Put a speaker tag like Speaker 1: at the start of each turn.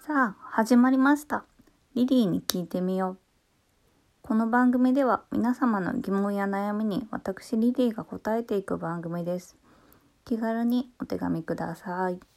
Speaker 1: さあ、始まりました。リリーに聞いてみよう。この番組では皆様の疑問や悩みに私リリーが答えていく番組です。気軽にお手紙ください。